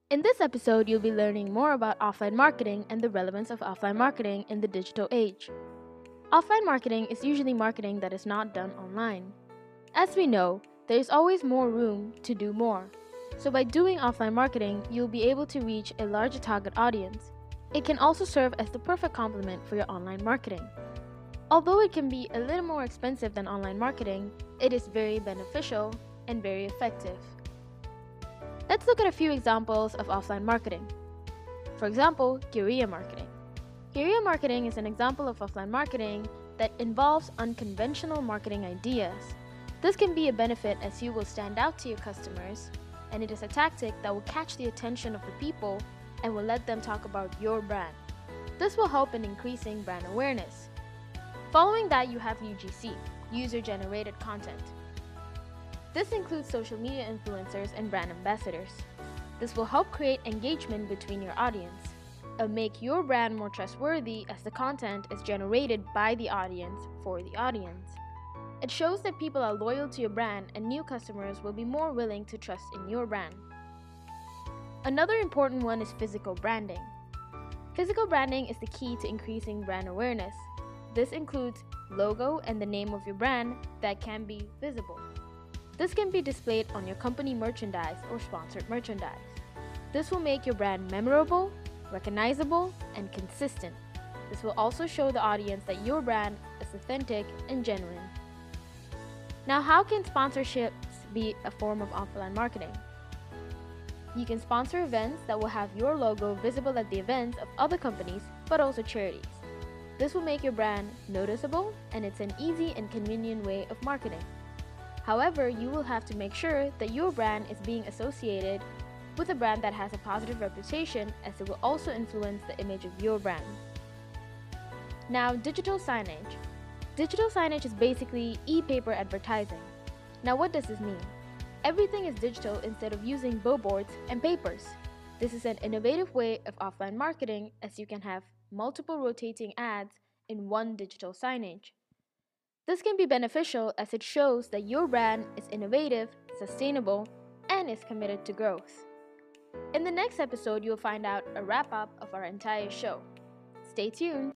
In this episode, you'll be learning more about offline marketing and the relevance of offline marketing in the digital age. Offline marketing is usually marketing that is not done online. As we know, there is always more room to do more. So by doing offline marketing, you'll be able to reach a larger target audience. It can also serve as the perfect complement for your online marketing. Although it can be a little more expensive than online marketing, it is very beneficial and very effective. Let's look at a few examples of offline marketing. For example, guerrilla marketing. Guerrilla marketing is an example of offline marketing that involves unconventional marketing ideas. This can be a benefit as you will stand out to your customers, and it is a tactic that will catch the attention of the people and will let them talk about your brand. This will help in increasing brand awareness. Following that, you have UGC, user-generated content. This includes social media influencers and brand ambassadors. This will help create engagement between your audience and make your brand more trustworthy as the content is generated by the audience for the audience. It shows that people are loyal to your brand and new customers will be more willing to trust in your brand. Another important one is physical branding. Physical branding is the key to increasing brand awareness. This includes logo and the name of your brand that can be visible. This can be displayed on your company merchandise or sponsored merchandise. This will make your brand memorable, recognizable, and consistent. This will also show the audience that your brand is authentic and genuine. Now, how can sponsorships be a form of offline marketing? You can sponsor events that will have your logo visible at the events of other companies, but also charities. This will make your brand noticeable, and it's an easy and convenient way of marketing. However, you will have to make sure that your brand is being associated with a brand that has a positive reputation, as it will also influence the image of your brand. Now, digital signage. Digital signage is basically e-paper advertising. Now, what does this mean? Everything is digital instead of using billboards and papers. This is an innovative way of offline marketing, as you can have multiple rotating ads in one digital signage. This can be beneficial as it shows that your brand is innovative, sustainable, and is committed to growth. In the next episode, you'll find out a wrap-up of our entire show. Stay tuned!